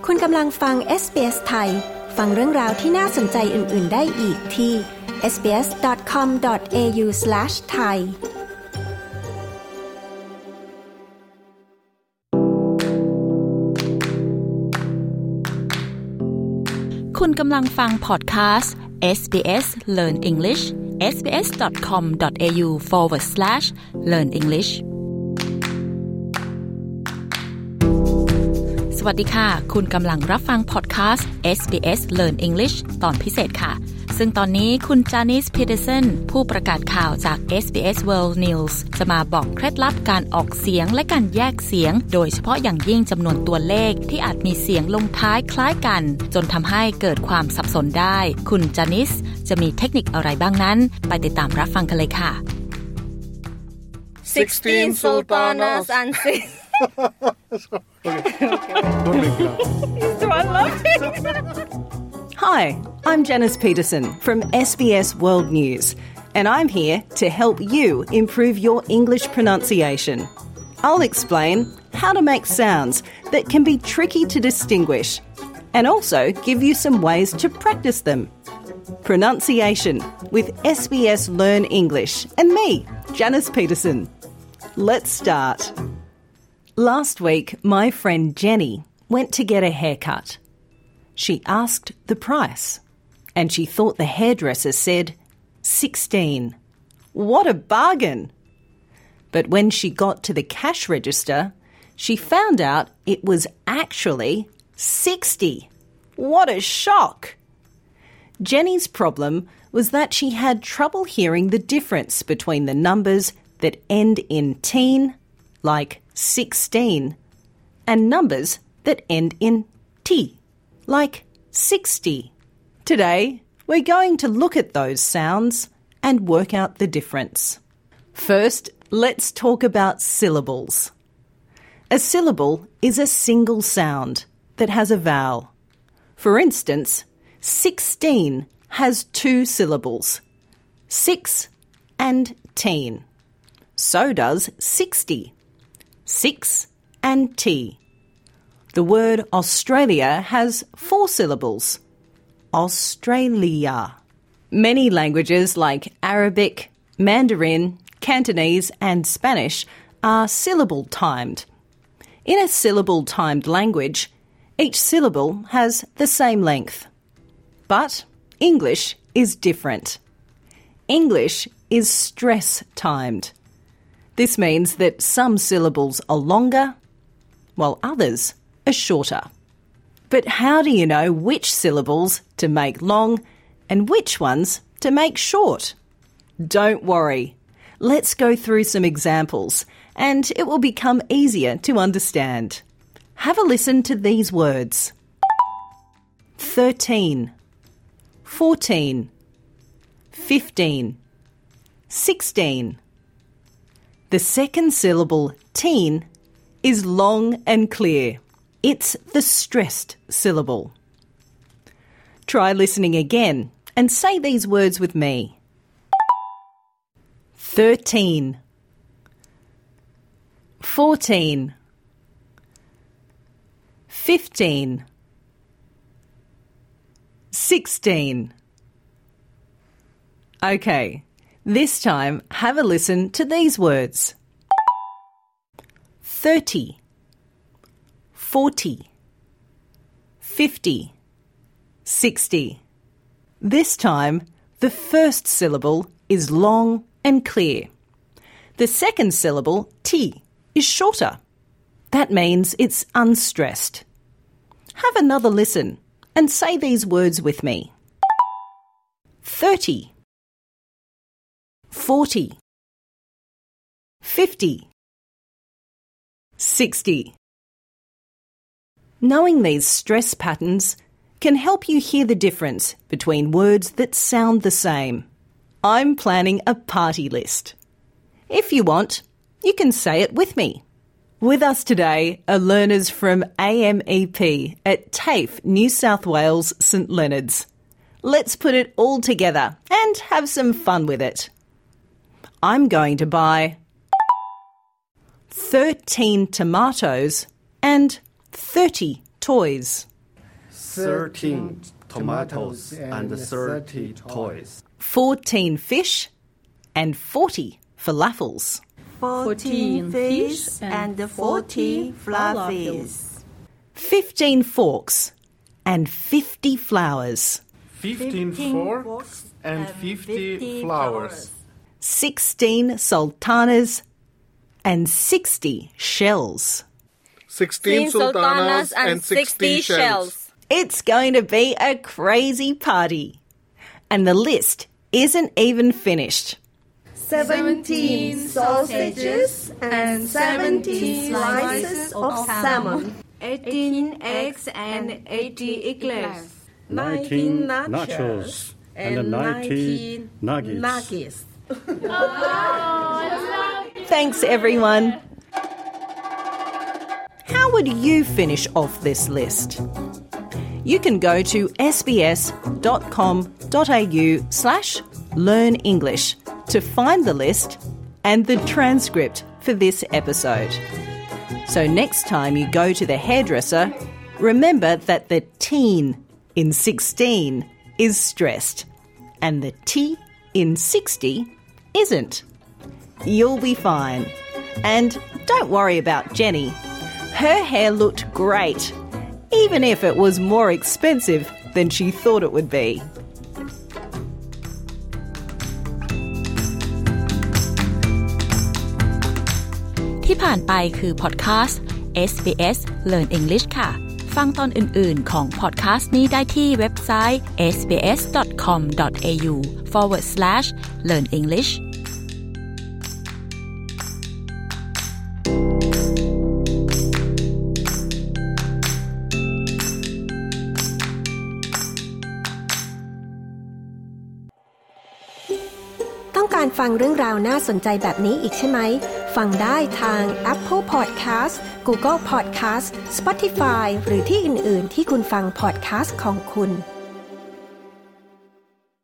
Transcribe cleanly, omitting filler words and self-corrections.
คุณกำลังฟัง SBS ไทยฟังเรื่องราวที่น่าสนใจอื่นๆได้อีกที่ sbs.com.au/thai คุณกำลังฟังพอดคาสต์ SBS Learn English sbs.com.au/learn English สวัสดีค่ะคุณกำลังรับฟังพอดคาสต์ SBS Learn English ตอนพิเศษค่ะซึ่งตอนนี้คุณจานิส พีเตอร์สันผู้ประกาศข่าวจาก SBS World News จะมาบอกเคล็ดลับการออกเสียงและการแยกเสียงโดยเฉพาะอย่างยิ่งจำนวนตัวเลขที่อาจมีเสียงลงท้ายคล้ายกันจนทำให้เกิดความสับสนได้คุณจานิสจะมีเทคนิคอะไรบ้างนั้นไปติดตามรับฟังกันเลยค่ะ 16 sultanas and Don't make me laugh. So I love it. Hi, I'm Janice Peterson from SBS World News, and I'm here to help you improve your English pronunciation. I'll explain how to make sounds that can be tricky to distinguish, and also give you some ways to practice them. Pronunciation with SBS Learn English and me, Janice Peterson. Let's start. Last week, my friend Jenny went to get a haircut. She asked the price, and she thought the hairdresser said $16. What a bargain! But when she got to the cash register, she found out it was actually $60. What a shock! Jenny's problem was that she had trouble hearing the difference between the numbers that end in teen, like 16, and numbers that end in T, like 60. Today, we're going to look at those sounds and work out the difference. First, let's talk about syllables. A syllable is a single sound that has a vowel. For instance, 16 has 2 syllables, 6 and teen. So does 60. 6 and T. The word Australia has 4 syllables. Australia. Many languages like Arabic, Mandarin, Cantonese and Spanish are syllable-timed. In a syllable-timed language, each syllable has the same length. But English is different. English is stress-timed. This means that some syllables are longer, while others are shorter. But how do you know which syllables to make long and which ones to make short? Don't worry. Let's go through some examples, and it will become easier to understand. Have a listen to these words. 13, 14, 15, 16. The second syllable, teen, is long and clear. It's the stressed syllable. Try listening again and say these words with me. 13, 14, 15, 16. Okay. This time, have a listen to these words. 30, 40, 50, 60. This time, the first syllable is long and clear. The second syllable, T, is shorter. That means it's unstressed. Have another listen and say these words with me. 30, 40, 50, 60. Knowing these stress patterns can help you hear the difference between words that sound the same. I'm planning a party list. If you want, you can say it with me. With us today are learners from AMEP at TAFE, New South Wales, St Leonards. Let's put it all together and have some fun with it. I'm going to buy 13 tomatoes and 30 toys. 13 tomatoes and 30 toys. 14 fish and 40 falafels. 14 fish and 40 falafels. 15 forks and 50 flowers. 15 forks and 50 flowers. 16 sultanas and 60 shells. 16 sultanas and 60 shells. It's going to be a crazy party. And the list isn't even finished. 17 sausages and 17 slices of salmon. 18 eggs and 80 eclairs. 19 nachos and 19 nuggets. Thanks, everyone. How would you finish off this list? You can go to sbs.com.au/learnenglish to find the list and the transcript for this episode. So next time you go to the hairdresser, remember that the teen in 16 is stressed and the T in 60 isn't. You'll be fine. And don't worry about Jenny. Her hair looked great, even if it was more expensive than she thought it would be. ที่ผ่านไปคือพอดแคสต์ SBS Learn English ค่ะฟังตอนอื่นๆของพอดแคสต์นี้ได้ที่เว็บไซต์ sbs.com.au/learnenglish ต้องการฟังเรื่องราวน่าสนใจแบบนี้อีกใช่ไหมฟังได้ทาง Apple Podcast Google Podcast Spotify หรือที่อื่นๆที่คุณฟัง podcast ของคุณ